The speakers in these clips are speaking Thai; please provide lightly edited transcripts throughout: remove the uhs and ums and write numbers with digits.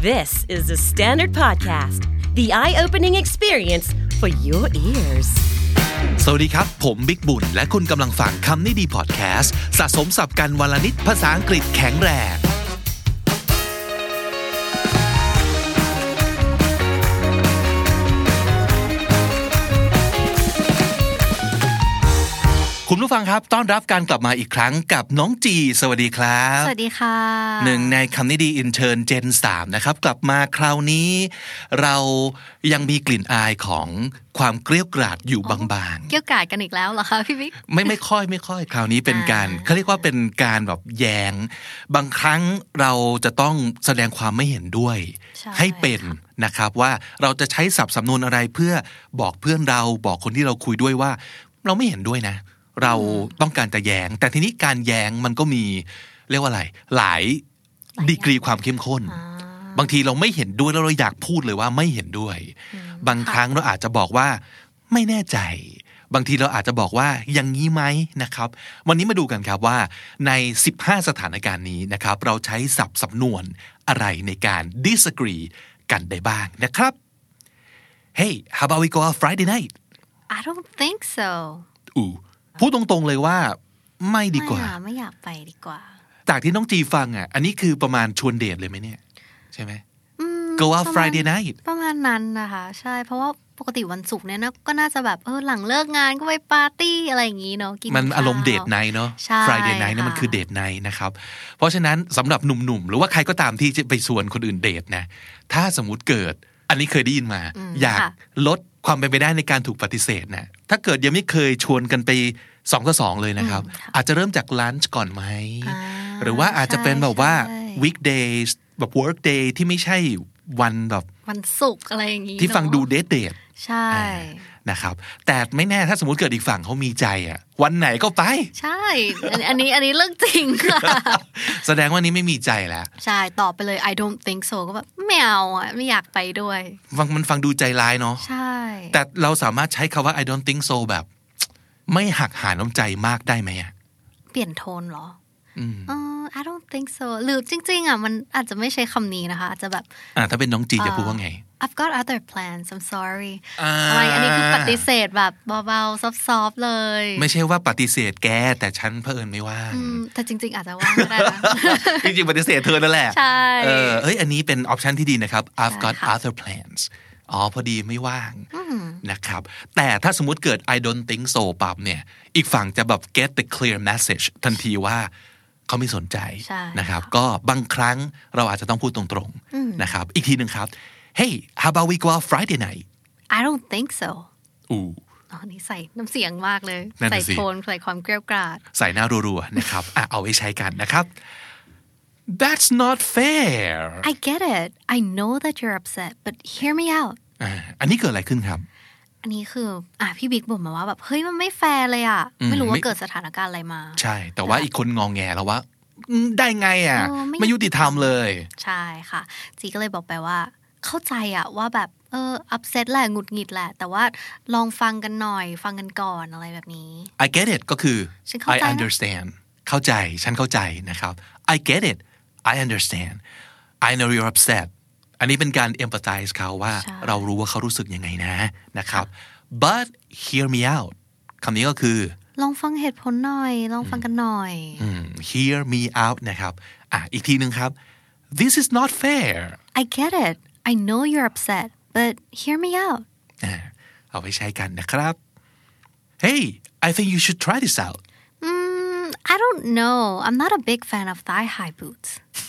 This is the Standard Podcast, the eye-opening experience for your ears. สวัสดีครับผมบิ๊กบุญและคุณกำลังฟังคำนี้ดีพอดแคสต์สะสมศัพท์กันวันละนิดภาษาอังกฤษแข็งแรงคุณผู้ฟังครับต้อนรับการกลับมาอีกครั้งกับน้องจีสวัสดีครับสวัสดีค่ะหนึ่งในคำนี้ดีอินเทิร์นเจน3นะครับกลับมาคราวนี้เรายังมีกลิ่นอายของความเกรี้ยวกราดอยู่บางๆเกรี้ยวกราดกันอีกแล้วเหรอคะพี่บิ๊กไม่ค่อยคราวนี้เป็นการเขาเรียกว่าเป็นการแบบแย้งบางครั้งเราจะต้องแสดงความไม่เห็นด้วยให้เป็นนะครับว่าเราจะใช้ศัพท์สำนวนอะไรเพื่อบอกเพื่อนเราบอกคนที่เราคุยด้วยว่าเราไม่เห็นด้วยนะเราต้องการจะแย้งแต่ทีนี้การแย้งมันก็มีเรียกว่าอะไรหลายดีกรีความเข้มข้นบางทีเราไม่เห็นด้วยแล้วเราอยากพูดเลยว่าไม่เห็นด้วยบางครั้งเราอาจจะบอกว่าไม่แน่ใจบางทีเราอาจจะบอกว่าอย่างนี้ไหมนะครับวันนี้มาดูกันครับว่าใน15สถานการณ์นี้นะครับเราใช้ศัพท์สำนวนอะไรในการ disagree กันได้บ้างนะครับ Hey how about we go out Friday night I don't think so พูดตรงๆเลยว่าไม่ดีกว่าไม่อยากไปดีกว่าจากที่น้องจีฟังอ่ะอันนี้คือประมาณชวนเดทเลยไหมเนี่ยใช่ไหม Go out Friday night ประมาณนั้นนะคะใช่เพราะว่าปกติวันศุกร์เนี่ยนะก็น่าจะแบบหลังเลิกงานก็ไปปาร์ตี้อะไรอย่างงี้เนาะกินมันอารมณ์เดทไนท์เนาะ Friday night เนี่ยมันคือเดทไนท์นะครับเพราะฉะนั้นสำหรับหนุ่มๆหรือว่าใครก็ตามที่จะไปชวนคนอื่นเดทนะถ้าสมมุติเกิดอันนี้เคยได้ยินมาอยากลดความเป็นไปได้ในการถูกปฏิเสธนะถ้าเกิดยังไม่เคยชวนกันไป2-2เลยนะครับอาจจะเริ่มจากลันช์ก่อนไหมหรือว่าอาจจะเป็นแบบว่า weekdays แบบ work day ที่ไม่ใช่วันแบบวันศุกร์อะไรอย่างงี้ที่ฟังดูเดทใช่นะครับแต่ไม่แน่ถ้าสมมุติเกิดอีกฝั่งเขามีใจอ่ะวันไหนก็ไปใช่อันนี้เรื่องจริงค่ะแสดงว่านี้ไม่มีใจแล้วใช่ตอบไปเลย I don't think so ก็แบบไม่เอาอ่ะไม่อยากไปด้วยมันฟังดูใจร้ายเนาะใช่แต่เราสามารถใช้คำว่า I don't think so แบบไม่หักหาน้ำใจมากได้ไหมอ่ะเปลี่ยนโทนเหรอI don't think so หรือจริงๆอ่ะมันอาจจะไม่ใช้คำนี้นะคะอาจจะแบบถ้าเป็นน้องจีจะพูดว่าไง I've got other plans I'm sorry อะไรอันนี้คือปฏิเสธแบบเบาๆซอฟๆเลยไม่ใช่ว่าปฏิเสธแกแต่ฉันเผอิญไม่ว่างแต่จริงๆอาจจะว่างก็ได้นะจริงๆปฏิเสธเธอนั่นแหละใช่อันนี้เป็นออปชันที่ดีนะครับ I've got other plans พอดีไม่ว่างนะครับแต่ถ้าสมมุติเกิด I don't think so ปั๊บเนี่ยอีกฝั่งจะแบบ get the clear message ทันทีว่าเขาไม่สนใจนะครับก็บางครั้งเราอาจจะต้องพูดตรงๆนะครับอีกทีนึงครับ Hey how about we go out Friday night I don't think so นี่ใส่น้ำเสียงมากเลยใส่โทนใส่ความเกรี้ยวกราดใส่หน้ารัวๆนะครับเอาไว้ใช้กันนะครับ That's not fair I get it I know that you're upset but hear me out อันนี้เกิดอะไรขึ้นครับอันนี้คือพี่บิ๊กบ่นมาว่าแบบเฮ้ยมันไม่แฟร์เลยอ่ะไม่รู้ว่าเกิดสถานการณ์อะไรมาใช่แต่ว่าอีกคนงองแงแล้วว่าได้ไงอ่ะไม่ยุติธรรมเลยใช่ค่ะจีก็เลยบอกไปว่าเข้าใจอ่ะว่าแบบupset แหละหงุดหงิดแหละแต่ว่าลองฟังกันหน่อยฟังกันก่อนอะไรแบบนี้ I get it ก็คือ I understand เข้าใจฉันเข้าใจนะครับ I get it I understand I know you're upsetอันนี้เป็นการ empathize เขาว่าเรารู้ว่าเขารู้สึกยังไงนะครับ but hear me out คำนี้ก็คือลองฟังเหตุผลหน่อยลองฟังกันหน่อย hear me out นะครับอีกทีนึงครับ this is not fair I get it I know you're upset but hear me out เอาไปใช้กันนะครับ Hey I think you should try this out I don't know I'm not a big fan of thigh high boots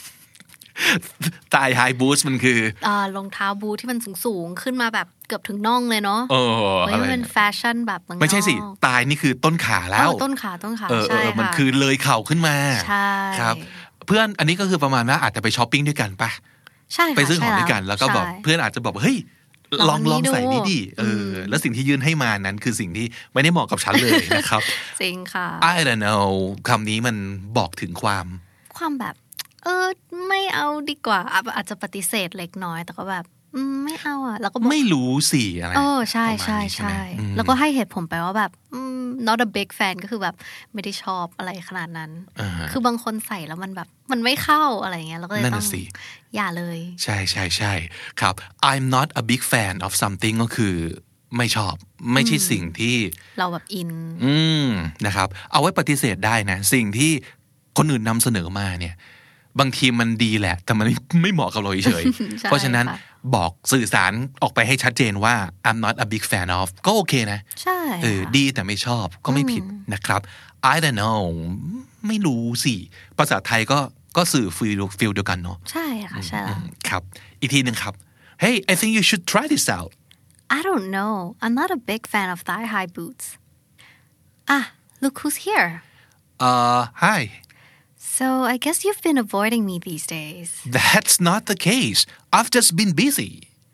thigh high boots มันคือรองเท้าบูทที่มันสูงๆขึ้นมาแบบเกือบถึงน่องเลยเนาะมันเป็นแฟชั่นแบบไม่ใช่สิตายนี่คือต้นขาแล้วต้นขาใช่ค่ะมันคือเลยเข่าขึ้นมาใช่ครับเพื่อนอันนี้ก็คือประมาณว่าอาจจะไปช้อปปิ้งด้วยกันป่ะใช่ไปซื้อของด้วยกันแล้วก็บอกเพื่อนอาจจะบอกเฮ้ยลองใส่นี่ดิแล้วสิ่งที่ยื่นให้มานั้นคือสิ่งที่ไม่ได้เหมาะกับฉันเลยนะครับจริงค่ะ I don't know คำนี้มันบอกถึงความแบบไม่เอาดีกว่าอาจจะปฏิเสธเล็กน้อยแต่ก็แบบไม่เอาแล้วก็ไม่รู้สิอะไรใช่แล้วก็ให้เหตุผลไปว่าแบบ not a big fan ก็คือแบบไม่ได้ชอบอะไรขนาดนั้นคือบางคนใส่แล้วมันแบบมันไม่เข้าอะไรเงี้ยเราก็เลยต้องอย่าเลยใช่ใช่ใช่ครับ I'm not a big fan of something ก็คือไม่ชอบไม่ใช่สิ่งที่เราแบบอินนะครับเอาไว้ปฏิเสธได้นะสิ่งที่คนอื่นนำเสนอมาเนี่ยบางทีมันดีแหละแต่มันไม่เหมาะกับเราเฉย เพราะฉะนั้นบอกสื่อสารออกไปให้ชัดเจนว่า I'm not a big fan of ก็โอเคนะใช่ดีแต่ไม่ชอบก็ไม่ผิดนะครับ I don't know ไม่รู้สิภาษาไทยก็สื่อฟีลเดียวกันเนาะใช่ค่ะใช่แล้วครับอีกทีนึงครับ Hey I think you should try this out I don't know I'm not a big fan of thigh-high boots look who's here hi So I guess you've been avoiding me these days. That's not the case. I've just been busy.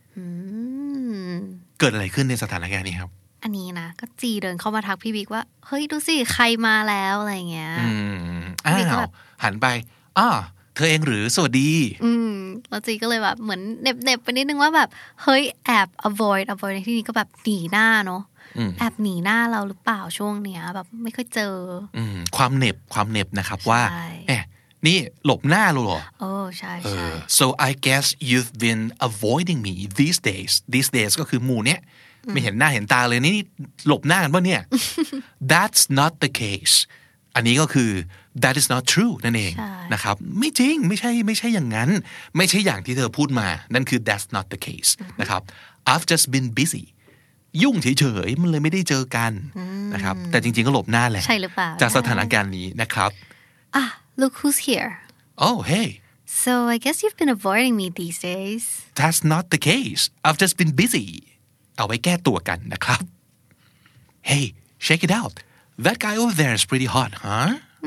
เกิดอะไรขึ้นในสถานการณ์นี้ครับอันนี้นะก็จีเดินเข้ามาทักพี่บิ๊กว่าเฮ้ยดูสิใครมาแล้วอะไรเงี้ยพี่ก็แบบหันไปเธอเองหรือสวัสดีแล้วจีก็เลยแบบเหมือนเน็บไปนิดนึงว่าแบบเฮ้ยแอบ avoid ในที่นี้ก็แบบหนีหน้าเนาะแอบหนีหน้าเราหรือเปล่าช่วงเนี้ยแบบไม่ค่อยเจอความเหน็บนะครับว่านี่หลบหน้าเราเหรอใช่ so I guess you've been avoiding me these days ก็คือหมู่เนี้ยไม่เห็นหน้าเห็นตาเลยนี่หลบหน้ากันป่ะเนี่ย that's not the case อันนี้ก็คือ that is not true นั่นเองนะครับไม่จริงไม่ใช่อย่างนั้นไม่ใช่อย่างที่เธอพูดมานั่นคือ that's not the case นะครับ I've just been busyยุ่งเฉยๆมันเลยไม่ได้เจอกันนะครับแต่จริงๆก็หลบหน้าแหละใช่หรือเปล่าจากสถานการณ์นี้นะครับ look who's here oh hey so I guess you've been avoiding me these days that's not the case I've just been busy เอาไว้แก้ตัวกันนะครับ hey check it out that guy over there is pretty hot huh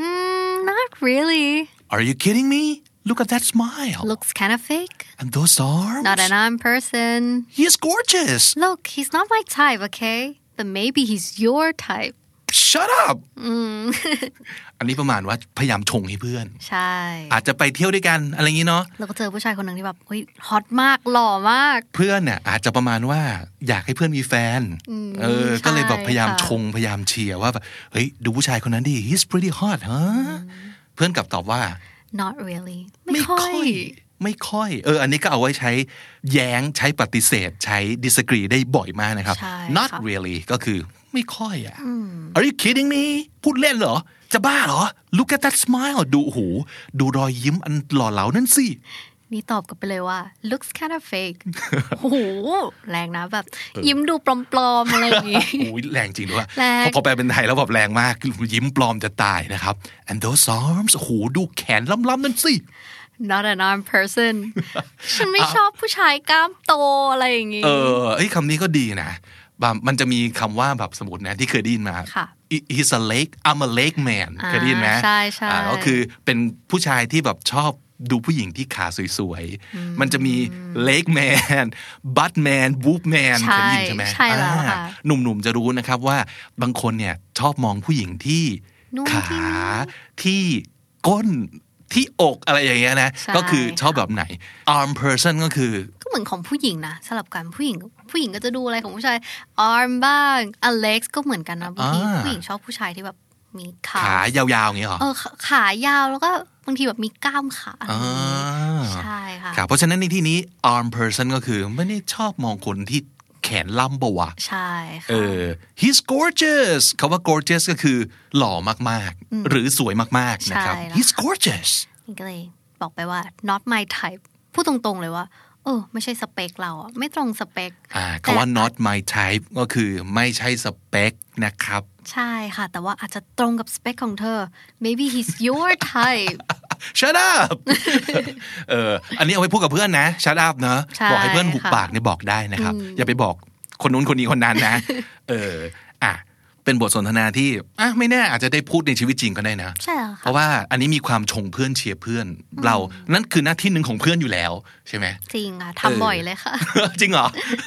not really are you kidding me Look at that smile. Looks kind of fake. And those arms. Not an arm person. He's gorgeous. Look, he's not my type, okay? But maybe he's your type. Shut up. อันนี้ประมาณว่าพยายามชงให้เพื่อนใช่อาจจะไปเที่ยวด้วยกันอะไรอย่างนี้เนาะแล้วก็เจอผู้ชายคนหนึ่งที่แบบเฮ้ยฮอตมากหล่อมากเพื่อนเนี่ยอาจจะประมาณว่าอยากให้เพื่อนมีแฟนก็เลยแบบพยายามชงพยายามเชียร์ว่าแบบเฮ้ยดูผู้ชายคนนั้นดิ he's pretty hot ฮะเพื่อนกลับตอบว่า not really ไม่ค่อยอันนี้ก็เอาไว้ใช้แย้งใช้ปฏิเสธใช้ disagree ได้บ่อยมากนะครับ not really ก็คือไม่ค่อยAre you kidding me พูดเล่นเหรอจะบ้าเหรอ Look at that smile ดูรอยยิ้มอันหล่อเหลานั่นสินี่ตอบกลับไปเลยว่า looks kind of fake โอ้โหแรงนะแบบยิ้มดูปลอมๆอะไรอย่างงี้โอ้ยแรงจริงด้วยพอแปลเป็นไทยแล้วแบบแรงมากยิ้มปลอมจะตายนะครับ and those arms โอ้โหดูแขนล้ำๆนั่นสิ not an arm person ฉันไม่ชอบผู้ชายกล้ามโตอะไรอย่างงี้คำนี้ก็ดีนะมันจะมีคำว่าแบบสมมตินะที่เคยได้ยินมา he's a leg I'm a leg man เคยได้ยินไหมใช่ใช่ก็คือเป็นผู้ชายที่แบบชอบดูผู้หญิงที่ขาสวยๆมันจะมี leg man butt man boob man เคยได้ยินใช่ไหมใช่แล้วค่ะหนุ่มๆจะรู้นะครับว่าบางคนเนี่ยชอบมองผู้หญิงที่ขาที่ก้นที่อกอะไรอย่างเงี้ยนะก็คือชอบแบบไหน arm person ก็คือก็เหมือนของผู้หญิงนะสลับกันผู้หญิงก็จะดูอะไรของผู้ชาย arm บ้าง legs ก็เหมือนกันนะบางทีผู้หญิงชอบผู้ชายที่แบบมีขายาวๆอย่างเงี้ยหรอขายาวแล้วก็บางทีแบบมีกล้ามขาใช่ค่ะเพราะฉะนั้นในที่นี้ arm person ก็คือไม่ได้ชอบมองคนที่แขนล่ำปะวะใช่ค่ะ he's gorgeous คำว่า gorgeous ก็คือหล่อมากๆหรือสวยมากๆนะครับ he's gorgeous นี่ก็เลยบอกไปว่า not my type พูดตรงๆเลยว่าไม่ใช่สเปคเราอ่ะไม่ตรงสเปคคำว่า not my type ก็คือไม่ใช่สเปคนะครับใช่ค่ะแต่ว่าอาจจะตรงกับสเปคของเธอ maybe he's your type shut up อันนี้เอาไว้พูดกับเพื่อนนะ shut up เนอะบอกให้เพื่อนหุบปากเนี่ยบอกได้นะครับอย่าไปบอกคนนู้นคนนี้คนนั้นนะเป็นบทสนทนาที่ไม่แน่อาจจะได้พูดในชีวิตจริงก็ได้นะใช่ค่ะเพราะว่าอันนี้มีความชงเพื่อนเชียร์เพื่อนเรานั่นคือหน้าที่หนึ่งของเพื่อนอยู่แล้วใช่ไหมจริงค่ะทำบ่อยเลยค่ะจริงเหรอ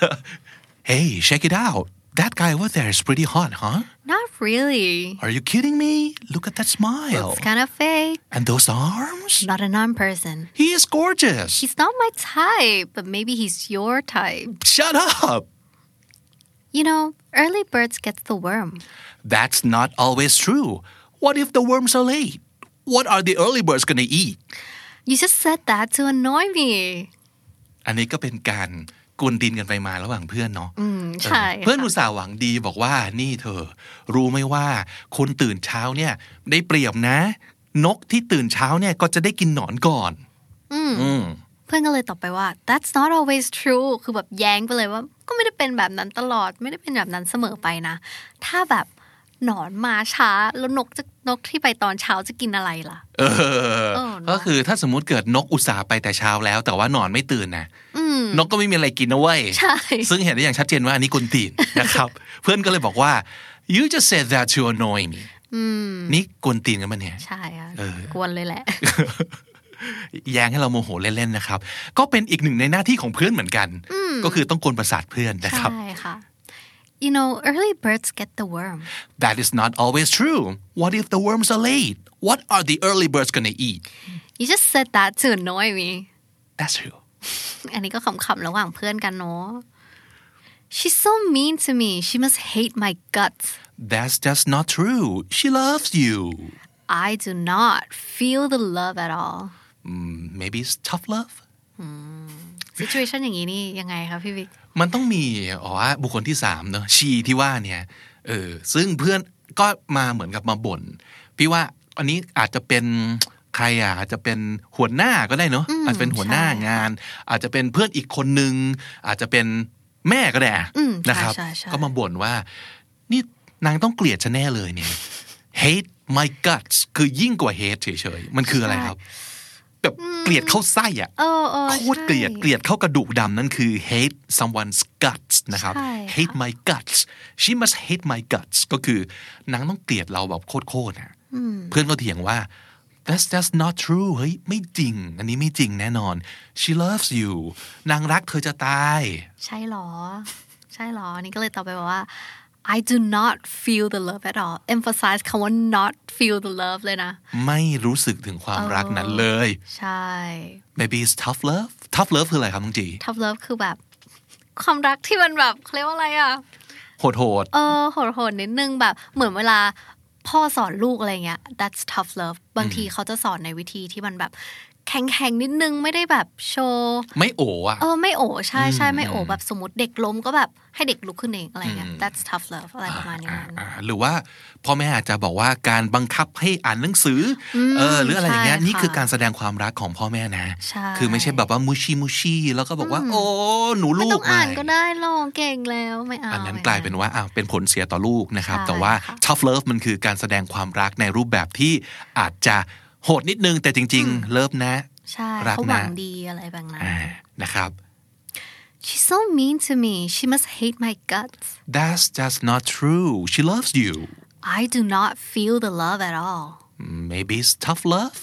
Hey check it out that guy over there is pretty hot huh Not really Are you kidding me Look at that smile Looks kind of fake And those arms Not an arm person He is gorgeous He's not my type But maybe he's your type Shut up You know, early birds get the worm That's not always true What if the worms are late What are the early birds gonna eat You just said that to annoy me อันนี้ก็เป็นการกวนตีนกันไปมาระหว่างเพื่อนเนาะใช่เพื่อนอุตส่าห์หวังดีบอกว่านี่เธอรู้ไหมว่าคนตื่นเช้าเนี่ยได้เปรียบนะนกที่ตื่นเช้าเนี่ยก็จะได้กินหนอนก่อนเพื่อนก็เลยตอบไปว่า That's not always true คือแบบแย้งไปเลยว่าก็ไม่ได้เป็นแบบนั้นตลอดไม่ได้เป็นแบบนั้นเสมอไปนะถ้าแบบหนอนมาช้าแล้วนกที่ไปตอนเช้าจะกินอะไรล่ะก็คือถ้าสมมุติเกิดนกอุตส่าห์ไปแต่เช้าแล้วแต่ว่าหนอนไม่ตื่นนะนกก็ไม่มีอะไรกินนะเว้ยซึ่งเห็นได้อย่างชัดเจนว่าอันนี้กวนตีนนะครับเพื่อนก็เลยบอกว่า you just said that to annoy me นี่กวนตีนกันมั้ยเนี่ยใช่ค่ะกวนเลยแหละแย้งให้เราโมโหเล่นๆนะครับก็เป็นอีกหนึ่งในหน้าที่ของเพื่อนเหมือนกันก็คือต้องกวนประสาทเพื่อนนะครับใช่ค่ะ You know, early birds get the worm. That is not always true. What if the worms are late? What are the early birds gonna eat? You just said that to annoy me. That's true. อันนี้ก็ขำๆระหว่างเพื่อนกันเนาะ She's so mean to me. She must hate my guts. That's just not true. She loves you. I do not feel the love at all. Maybe it's tough love? Situation อย่างนี้นี่ยังไงคะพี่บิ๊กมันต้องมีบุคคลที่3เนอะชีที่ว่าเนี่ยซึ่งเพื่อนก็มาเหมือนกับมาบ่นพี่ว่าอันนี้อาจจะเป็นใครอาจจะเป็นหัวหน้าก็ได้เนอะอาจจะเป็นหัวหน้างานอาจจะเป็นเพื่อนอีกคนนึงอาจจะเป็นแม่ก็ได้นะครับก็มาบ่นว่านี่นางต้องเกลียดฉันแน่เลยเนี่ย hate my guts คือยิ่งกว่า hate เฉยๆมันคืออะไรครับแบบเกลียดเข้าไส้อ่ะโคตรเกลียดเข้ากระดูกดำนั่นคือ hate someone's guts นะครับ hate my guts she must hate my guts ก็คือนางต้องเกลียดเราแบบโคตรๆนะเพื่อนก็เถียงว่า that's not true เฮ้ยไม่จริงอันนี้ไม่จริงแน่นอน she loves you นางรักเธอจะตายใช่หรอนี่ก็เลยตอบไปว่าI do not feel the love at all emphasize คำว่า not feel the love เลยนะไม่รู้สึกถึงความรักนั้นเลยใช่ maybe it's tough love คืออะไรครับน้องจี tough love คือแบบความรักที่มันแบบเขาเรียกว่าอะไรอ่ะโหดโหดนิดนึงแบบเหมือนเวลาพ่อสอนลูกอะไรเงี้ย that's tough love บางทีเขาจะสอนในวิธีที่มันแบบแข็งนิดนึงไม่ได้แบบโชว์ไม่โอ๋อะไม่โอ๋ใช่ไม่โอ๋แบบสมมติเด็กล้มก็แบบให้เด็กลุกขึ้นเองอะไรเงี้ย that's tough love อะไรประมาณนี้หรือว่าพ่อแม่อาจจะบอกว่าการบังคับให้อ่านหนังสือหรืออะไรอย่างเงี้ยนี่คือการแสดงความรักของพ่อแม่นะคือไม่ใช่แบบว่ามูชิแล้วก็บอกว่าโอ้หนูลูกไม่ต้องอ่านก็ได้หรอกเก่งแล้วไม่เอาอันนั้นกลายเป็นว่าเป็นผลเสียต่อลูกนะครับแต่ว่า tough love มันคือการแสดงความรักในรูปแบบที่อาจจะโหดนิดนึงแต่จริงๆเลิฟนะใช่เขาหวังดีอะไรบางนั้นนะครับ She's so mean to me. She must hate my guts. That's just not true. She loves you. I do not feel the love at all. Maybe it's tough love.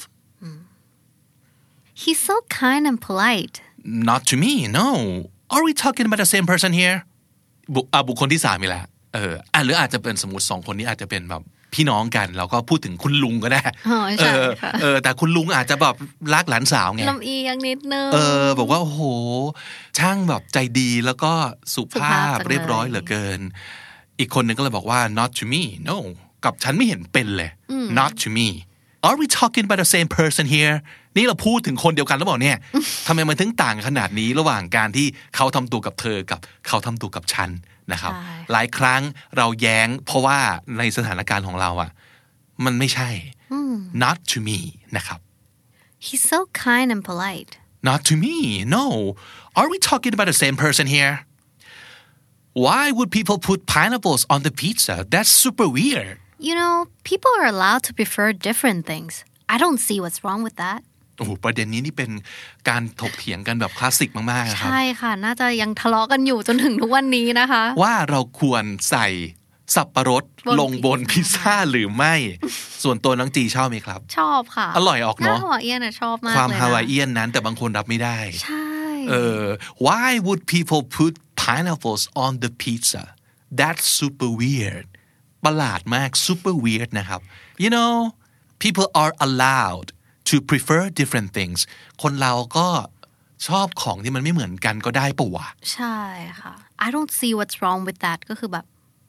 He's so kind and polite. Not to me, no. Are we talking about the same person here? บุคคลที่3อีกแล้วหรืออาจจะเป็นสมมุติ2คนนี้อาจจะเป็นแบบพี่น้องกันเราก็พูดถึงคุณลุงก็ได้แต่คุณลุงอาจจะแบบรักหลานสาวไงลำเอียงนิดนึงบอกว่าโอ้โหช่างแบบใจดีแล้วก็สุภาพเรียบร้อยเหลือเกินอีกคนนึงก็เลยบอกว่า not to me no กับฉันไม่เห็นเป็นเลย not to me are we talking about the same person here นี่เราพูดถึงคนเดียวกันหรือเปล่าเนี่ยทำไมมันถึงต่างขนาดนี้ระหว่างการที่เขาทำตัวกับเธอกับเขาทำตัวกับฉันนะครับหลายครั้งเราแย้งเพราะว่าในสถานการณ์ของเรามันไม่ใช่ not to me นะครับ He's so kind and polite Not to me no Are we talking about the same person here Why would people put pineapples on the pizza That's super weird You know people are allowed to prefer different things I don't see what's wrong with that โอ้โหประเด็นนี้นี่เป็นการถกเถียงกันแบบคลาสสิกมากๆนะครับใช่ค่ะน่าจะยังทะเลาะกันอยู่จนถึงทุกวันนี้นะคะว่าเราควรใส่สับปะรดลงบนพิซซ่าหรือไม่ส่วนตัวน้องจีชอบไหมครับชอบค่ะอร่อยออกเนาะฮาวายเอียนชอบมากเลยนะความฮาวายเอียนนั้นแต่บางคนรับไม่ได้ใช่ Why would people put pineapples on the pizza That's super weird ประหลาดมาก super weird นะครับ You know people are allowed to prefer different things คนเราก็ชอบของที่มันไม่เหมือนกันก็ได้ปะวะใช่ค่ะ I don't see what's wrong with that ก็คือแบบ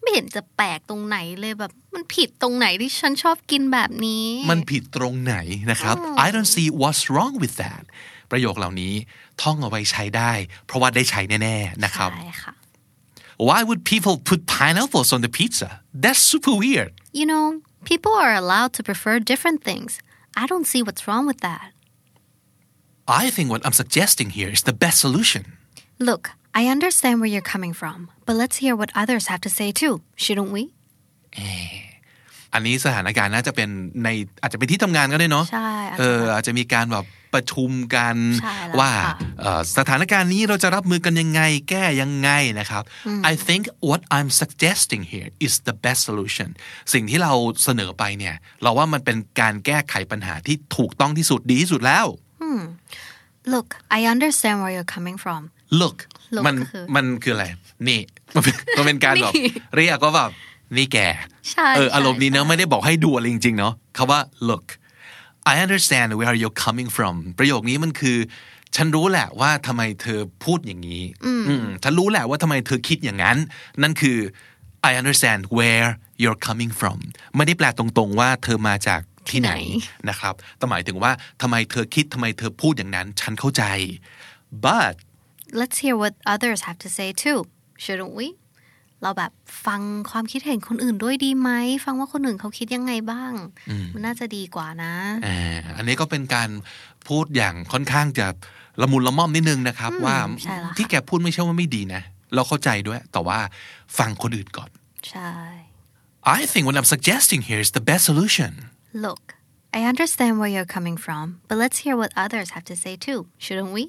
ไม่เห็นจะแปลกตรงไหนเลยแบบมันผิดตรงไหนที่ฉันชอบกินแบบนี้มันผิดตรงไหนนะครับ I don't see what's wrong with that ประโยคเหล่านี้ท่องเอาไว้ใช้ได้เพราะว่าได้ใช้แน่ๆนะครับใช่ค่ะ Why would people put pineapples on the pizza? That's super weird. You know, people are allowed to prefer different things. I don't see what's wrong with that. I think what I'm suggesting here is the best solution. Look, I understand where you're coming from, but let's hear what others have to say too, shouldn't we? อันนี้สถานการณ์น่าจะเป็นในอาจจะเป็นที่ทำงานก็ได้เนาะใช่อาจจะมีการแบบประชุมกันว่าสถานการณ์นี้เราจะรับมือกันยังไงแก้ยังไงนะครับ I think what I'm suggesting here is the best solution สิ่งที่เราเสนอไปเนี่ยเราว่ามันเป็นการแก้ไขปัญหาที่ถูกต้องที่สุดดีที่สุดแล้ว Look, I understand where you're coming from. Look มันคืออะไรนี่มันเป็นการแบบเรียกว่าแบบนี่แกอารมณ์นี้เนอะไม่ได้บอกให้ดูอะไรจริงๆเนาะคำว่า look I understand where you're coming from ประโยคนี้มันคือฉันรู้แหละว่าทำไมเธอพูดอย่างนี้ฉันรู้แหละว่าทำไมเธอคิดอย่างนั้นนั่นคือ I understand where you're coming from ไม่ได้แปลตรงๆว่าเธอมาจากที่ไหนนะครับแต่หมายถึงว่าทำไมเธอคิดทำไมเธอพูดอย่างนั้นฉันเข้าใจ but let's hear what others have to say too shouldn't weเราแบบฟังความคิดเห็นคนอื่นด้วยดีไหมฟังว่าคนอื่นเขาคิดยังไงบ้างมันน่าจะดีกว่านะอันนี้ก็เป็นการพูดอย่างค่อนข้างจะละมุนละม่อมนิดนึงนะครับว่าที่แกพูดไม่ใช่ว่าไม่ดีนะเราเข้าใจด้วยแต่ว่าฟังคนอื่นก่อนใช่ I think what I'm suggesting here is the best solution Look I understand where you're coming from but let's hear what others have to say too shouldn't we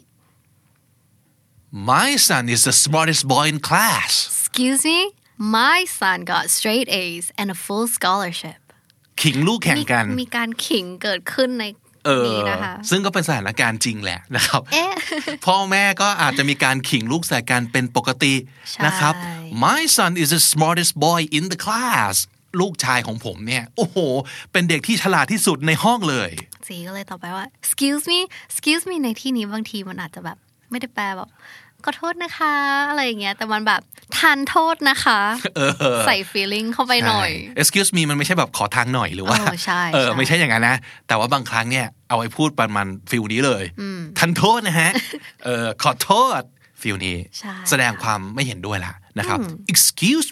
My son is the smartest boy in class Excuse me My son got straight A's and a full scholarship ขิงลูกแข่งกันมีการขิงเกิดขึ้นในนี้นะคะซึ่งก็เป็นสถานการณ์จริงแหละนะครับพ่อแม่ก็อาจจะมีการขิงลูกใส่กันเป็นปกตินะครับ My son is the smartest boy in the class ลูกชายของผมเนี่ยโอ้โหเป็นเด็กที่ฉลาดที่สุดในห้องเลยจีก็เลยตอบไปว่า excuse me ในที่นี้บางทีมันอาจจะแบบไม่ได้แปลแบบขอโทษนะคะอะไรอย่างเงี้ยแต่มันแบบทานโทษนะคะใส่ feeling เข้าไปหน่อย excuse me มันไม่ใช่แบบขอทางหน่อยหรือว่าไม่ใช่อย่างนั้นนะแต่ว่าบางครั้งเนี่ยเอาไว้พูดประมาณฟีลนี้เลยทานโทษนะฮะขอโทษฟีลนี้แสดงความไม่เห็นด้วยละนะครับ excuse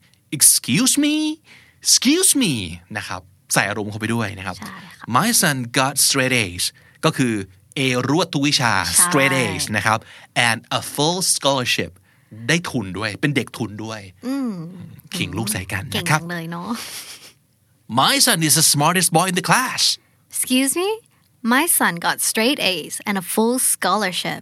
me นะครับใส่อารมณ์เข้าไปด้วยนะครับ My son got straight A's ก็คือA รวดทุกวิชา straight A's นะครับ and a full scholarship ได้ทุนด้วยเป็นเด็กทุนด้วยขิงลูกใส่กันนะครับเก่งเลยเนาะ My son is the smartest boy in the class Excuse me My son got straight A's and a full scholarship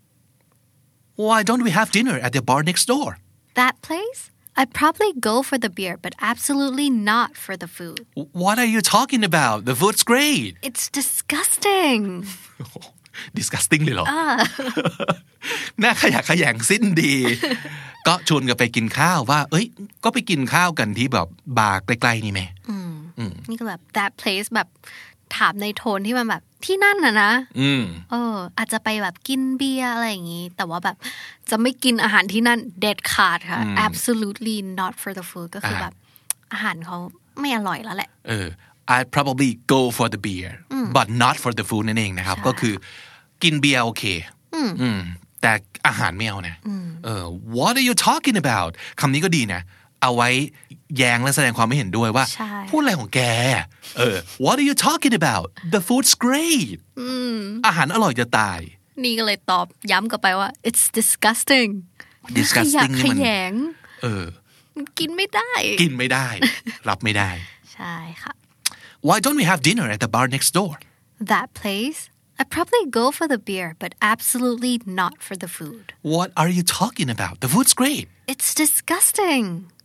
Why don't we have dinner at the bar next door That place I'd probably go for the beer but absolutely not for the food What are you talking about The food's great It's disgusting disgusting เลยเหรอน่าขยะแขยงสิ้นดีก็ชวนกันไปกินข้าวว่าเอ้ยก็ไปกินข้าวกันที่แบบบาร์ใกล้ๆนี่ไหมนี่ก็แบบ that place แบบถามในโทนที่มันแบบที่นั่นนะอาจจะไปแบบกินเบียร์อะไรอย่างงี้แต่ว่าแบบจะไม่กินอาหารที่นั่นเด็ดขาดค่ะ absolutely not for the food ก็คือแบบอาหารเขาไม่อร่อยแล้วแหละ I'd probably go for the beer but not for the food นั่นเองนะครับก็คือกินเบียร์โอเคแต่อาหารไม่เอานะWhat are you talking about คำนี้ก็ดีนะเอาไว้แย้งและแสดงความไม่เห็นด้วยว่าพูดอะไรของแกWhat are you talking about The food's great อาหารอร่อยจะตายนี่ก็เลยตอบย้ำกลับไปว่า It's disgusting นี่มันกินไม่ได้รับไม่ได้ใช่ค่ะ Why don't we have dinner at the bar next door? That place? I'd probably go for the beer, but absolutely not for the food. What are you talking about? The food's great. It's disgusting.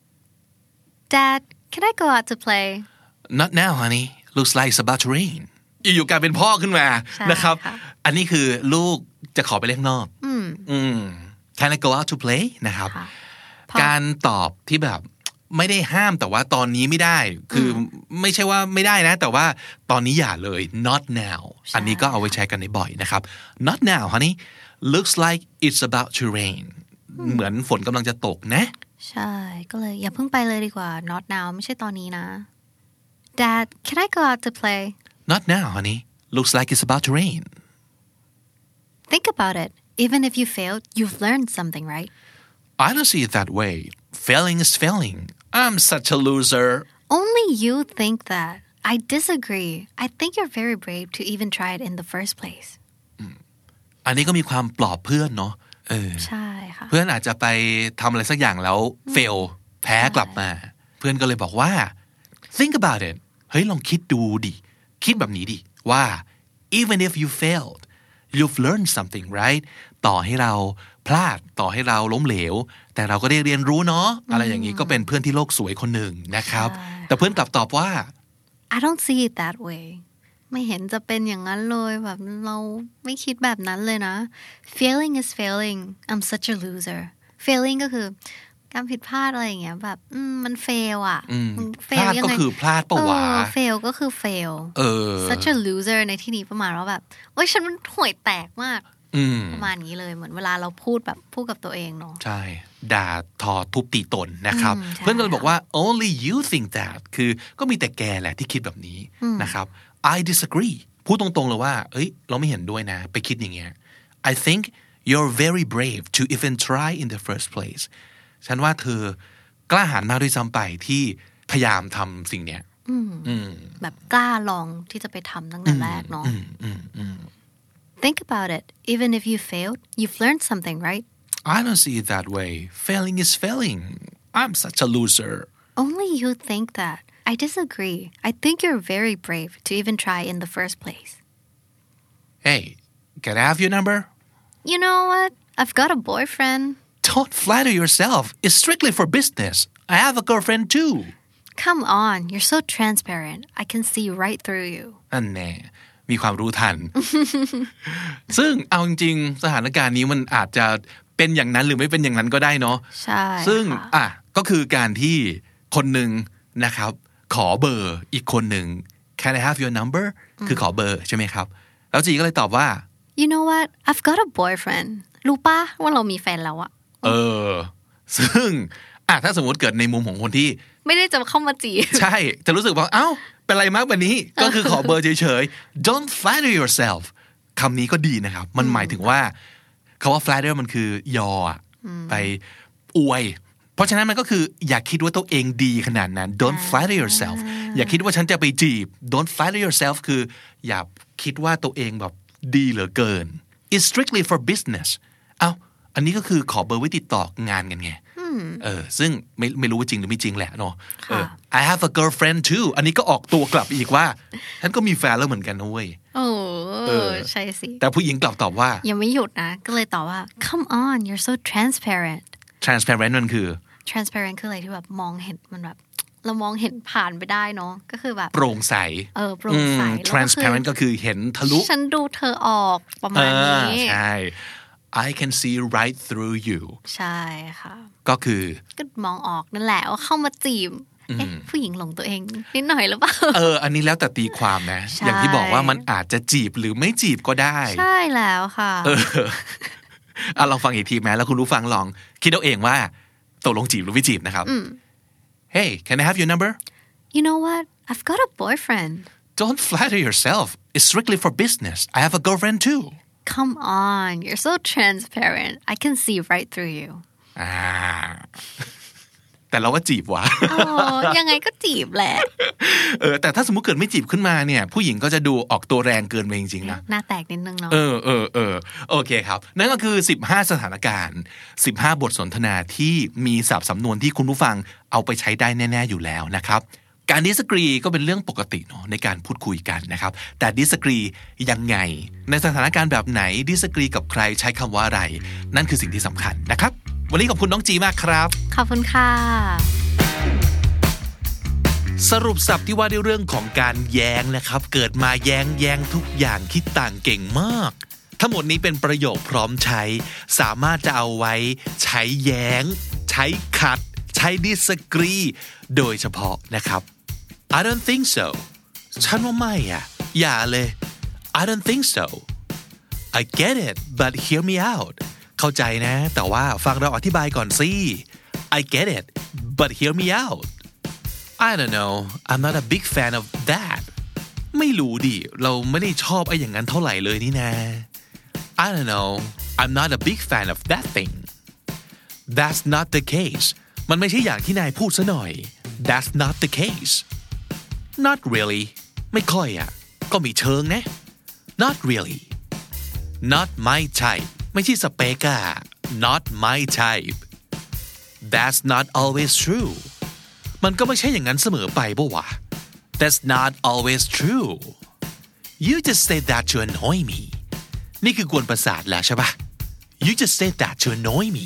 Dad, can I go out to play? Not now, honey. Looks like it's about to rain. อยู่ๆกลายเป็นพ่อขึ้นมานะครับอันนี้คือลูกจะขอไปเล่นนอกCan I go out to play? นะครับการตอบที่แบบไม่ได้ห้ามแต่ว่าตอนนี้ไม่ได้คือไม่ใช่ว่าไม่ได้นะแต่ว่าตอนนี้อย่าเลย not now อันนี้ก็เอาไว้ใช้กันในบ่อยนะครับ not now honey looks like it's about to rain เหมือนฝนกำลังจะตกนะใช่ก็เลยอย่าเพิ่งไปเลยดีกว่า not now ไม่ใช่ตอนนี้นะ Dad can I go out to play Not now honey looks like it's about to rain Think about it even if you failed you've learned something right I don't see it that way failing is failing I'm such a loser Only you think that I disagree I think you're very brave to even try it in the first place อันนี้ก็มีความปลอบเพื่อนเนาะใช่ค่ะเพื่อนอาจจะไปทำอะไรสักอย่างแล้วเฟลแพ้กลับมาเพื่อนก็เลยบอกว่า think about it เฮ้ยลองคิดดูดิคิดแบบนี้ดิว่า even if you failed you've learned something right ต่อให้เราพลาดต่อให้เราล้มเหลวแต่เราก็ได้เรียนรู้เนาะอะไรอย่างนี้ก็เป็นเพื่อนที่โลกสวยคนหนึ่งนะครับแต่เพื่อนกลับตอบว่า I don't see it that way ไม่เห็นจะเป็นอย่างนั้นเลยแบบเราไม่คิดแบบนั้นเลยนะ failing is failing I'm such a loser failing ก็คือการผิดพลาดอะไรอย่างเงี้ยแบบมัน fail อ่ะพลาดก็คือพลาดปะวะ fail ก็คือ fail such a loser ในที่นี้ประมาณว่าแบบโอ๊ยฉันมันห่วยแตกมากประมาณนี้เลยเหมือนเวลาเราพูดกับตัวเองเนาะใช่ด่าทอทุบตีตนนะครับเพื่อนก็เลยบอกว่า only you think that คือก็มีแต่แกแหละที่คิดแบบนี้นะครับI disagree พูดตรงๆเลยว่าเอ้ยเราไม่เห็นด้วยนะไปคิดอย่างเงี้ย I think you're very brave to even try in the first place ฉันว่าเธอกล้าหาญมากด้วยซ้ำไปที่พยายามทำสิ่งเนี้ยแบบกล้าลองที่จะไปทำตั้งแต่แรกเนาะ Think about it even if you failed you've learned something right I don't see it that way failing is failing I'm such a loser Only you think that I disagree I think you're very brave to even try in the first place Hey can I have your number You know what I've got a boyfriend Don't flatter yourself it's strictly for business I have a girlfriend too Come on you're so transparent I can see right through you นั่นแน่มีความรู้ทัน ซึ่งเอาจริงๆสถานการณ์นี้มันอาจจะเป็นอย่างนั้นหรือไม่เป็นอย่างนั้นก็ได้เนาะใช่ซึ่งก็คือการที่คนหนึ่งนะครับขอเบอร์อีกคนหนึ่ง Can I have your number คือขอเบอร์ใช่ไหมครับแล้วจีก็เลยตอบว่า You know what I've got a boyfriend รู้ป่ะว่าเรามีแฟนแล้วอะซึ่งถ้าสมมติเกิดในมุมของคนที่ไม่ได้จะเข้ามาจีบใช่จะรู้สึกว่าเอ้าเป็นไรมากแบบนี้ก็คือขอเบอร์เฉยๆ Don't flatter yourself คำนี้ก็ดีนะครับมันหมายถึงว่าคำว่า flatter มันคือยอไปอวยเพราะฉะนั้นมันก็คืออย่าคิดว่าตัวเองดีขนาดนั้น Don't flatter yourself อย่าคิดว่าฉันจะไปจีบ Don't flatter yourself คืออย่าคิดว่าตัวเองแบบดีเหลือเกิน It's strictly for business อันนี้ก็คือขอเบอร์ไว้ติดต่องานกันไงซึ่งไม่รู้ว่าจริงหรือไม่จริงแหละเนาะI have a girlfriend too อันนี้ก็ออกตัวกลับอีกว่าฉันก็มีแฟนแล้วเหมือนกันนะเว้ยใช่สิแต่ผู้หญิงกลับตอบว่ายังไม่หยุดนะก็เลยตอบว่า Come on you're so transparent transparent มันคือ transparent คืออะไรที่แบบมองเห็นมันแบบเรามองเห็นผ่านไปได้เนาะก็คือแบบโปร่งใสโปร่งใส transparent ก็คือเห็นทะลุฉันดูเธอออกประมาณนี้ใช่I can see right through you ใช่ค่ะก็คือก็มองออกนั่นแหละว่าเข้ามาจีบผู้หญิงหลงตัวเองนิดหน่อยหรือเปล่าอันนี้แล้วแต่ตีความนะอย่างที่บอกว่ามันอาจจะจีบหรือไม่จีบก็ได้ใช่แล้วค่ะลองฟังอีกทีไหมแล้วคุณรู้ฟังลองคิดเอาเองว่าตกลงจีบหรือไม่จีบนะครับ Hey can I have your number You know what I've got a boyfriend Don't flatter yourself It's strictly for business I have a girlfriend too Come on you're so transparent I can see right through you แต่เราว่าจีบว่ะยังไงก็จีบแหละแต่ถ้าสมมุติเกิดไม่จีบขึ้นมาเนี่ยผู้หญิงก็จะดูออกตัวแรงเกินไปจริงๆนะหน้าแตกนิดนึงเนาะโอเคครับนั่นก็คือ15สถานการณ์15บทสนทนาที่มีศัพท์สำนวนที่คุณผู้ฟังเอาไปใช้ได้แน่ๆอยู่แล้วนะครับการ disagree ก็เป็นเรื่องปกติเนาะในการพูดคุยกันนะครับแต่ disagree ยังไงในสถานการณ์แบบไหน disagree กับใครใช้คำว่าอะไรนั่นคือสิ่งที่สำคัญนะครับวันนี้ขอบคุณน้องจีมากครับขอบคุณค่ะสรุปศัพท์ที่ว่าด้วยเรื่องของการแย้งนะครับเกิดมาแย้งทุกอย่างคิดต่างเก่งมากทั้งหมดนี้เป็นประโยคพร้อมใช้สามารถจะเอาไว้ใช้แย้งใช้ขัดใช้ disagree โดยเฉพาะนะครับ I don't think so ฉันว่าไม่อย่าเลย I don't think so I get it but hear me out เข้าใจนะแต่ว่าฟังเราอธิบายก่อนสิ I get it but hear me out I don't know I'm not a big fan of that ไม่รู้ดิเราไม่ได้ชอบไอ้อย่างนั้นเท่าไหร่เลยนี่นะ I don't know I'm not a big fan of that thing That's not the case มันไม่ใช่อย่างที่นายพูดซะหน่อย That's not the case Not really ไม่ค่อยอ่ะก็มีเชิงนะ Not really Not my type ไม่ใช่สเปกอะ Not my type That's not always true มันก็ไม่ใช่อย่างนั้นเสมอไปป่ะวะ That's not always true You just said that to annoy me นี่คือกวนประสาทแล้วใช่ปะ You just said that to annoy me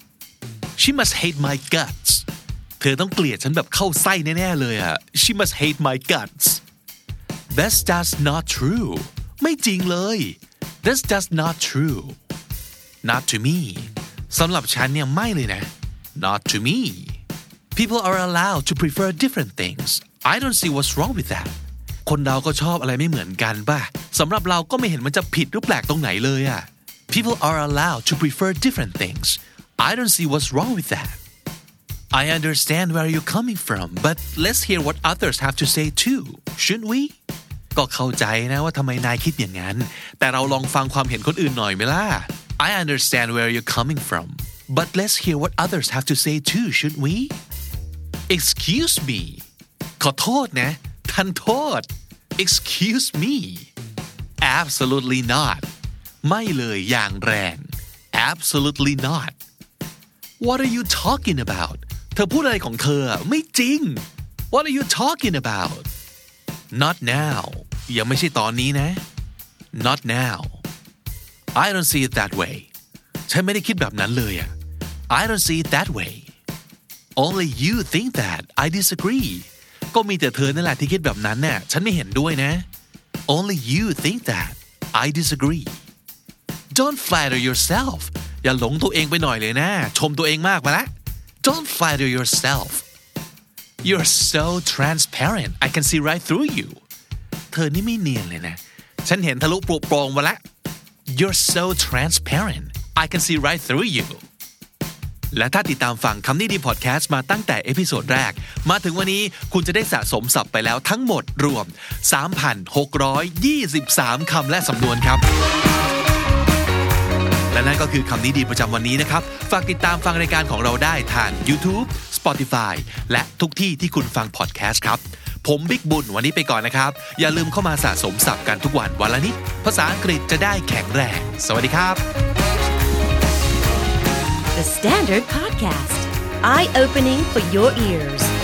She must hate my guts เธอต้องเกลียดฉันแบบเข้าไส้แน่ๆเลยอะ She must hate my guts That's just not true ไม่จริงเลย That's just not true Not to me สำหรับฉันเนี่ยไม่เลยนะ Not to me People are allowed to prefer different things I don't see what's wrong with that คนเราก็ชอบอะไรไม่เหมือนกันป่ะสำหรับเราก็ไม่เห็นมันจะผิดหรือแปลกตรงไหนเลยอะ People are allowed to prefer different things I don't see what's wrong with that I understand where you're coming from but let's hear what others have to say too shouldn't we ก็เข้าใจนะว่าทำไมนายคิดอย่างนั้นแต่เราลองฟังความเห็นคนอื่นหน่อยไหมล่ะ I understand where you're coming from but let's hear what others have to say too shouldn't we Excuse me ขอโทษนะทันโทษ Excuse me Absolutely not ไม่เลยอย่างแรง Absolutely not What are you talking about เธอพูดอะไรของเธอไม่จริง What are you talking about Not now ยังไม่ใช่ตอนนี้นะ Not now I don't see it that way ฉันไม่ได้คิดแบบนั้นเลยอะ I don't see it that way Only you think that I disagree ก็มีแต่เธอนั่นแหละที่คิดแบบนั้นน่ะฉันไม่เห็นด้วยนะ Only you think that I disagree Don't flatter yourself อย่าหลงตัวเองไปหน่อยเลยนะชมตัวเองมากมาละ Don't flatter yourself You're so transparent I can see right through you เธอนี่ไม่เนียนเลยนะฉันเห็นทะลุโปร่งมาละ You're so transparent I can see right through you และถ้าติดตามฟังคำนี้ดีพอดแคสต์มาตั้งแต่เอพิโซดแรกมาถึงวันนี้คุณจะได้สะสมศัพท์ไปแล้วทั้งหมดรวม 3,623 คำและสำนวนครับและนั่นก็คือคำนี้ดีประจำวันนี้นะครับฝากติดตามฟังรายการของเราได้ทาง YouTube Spotify และทุกที่ที่คุณฟังพอดแคสต์ครับผมบิ๊กบุญวันนี้ไปก่อนนะครับอย่าลืมเข้ามาสะสมศัพท์กันทุกวันวันละนิดภาษาอังกฤษจะได้แข็งแรงสวัสดีครับ The Standard Podcast Eye-opening for your ears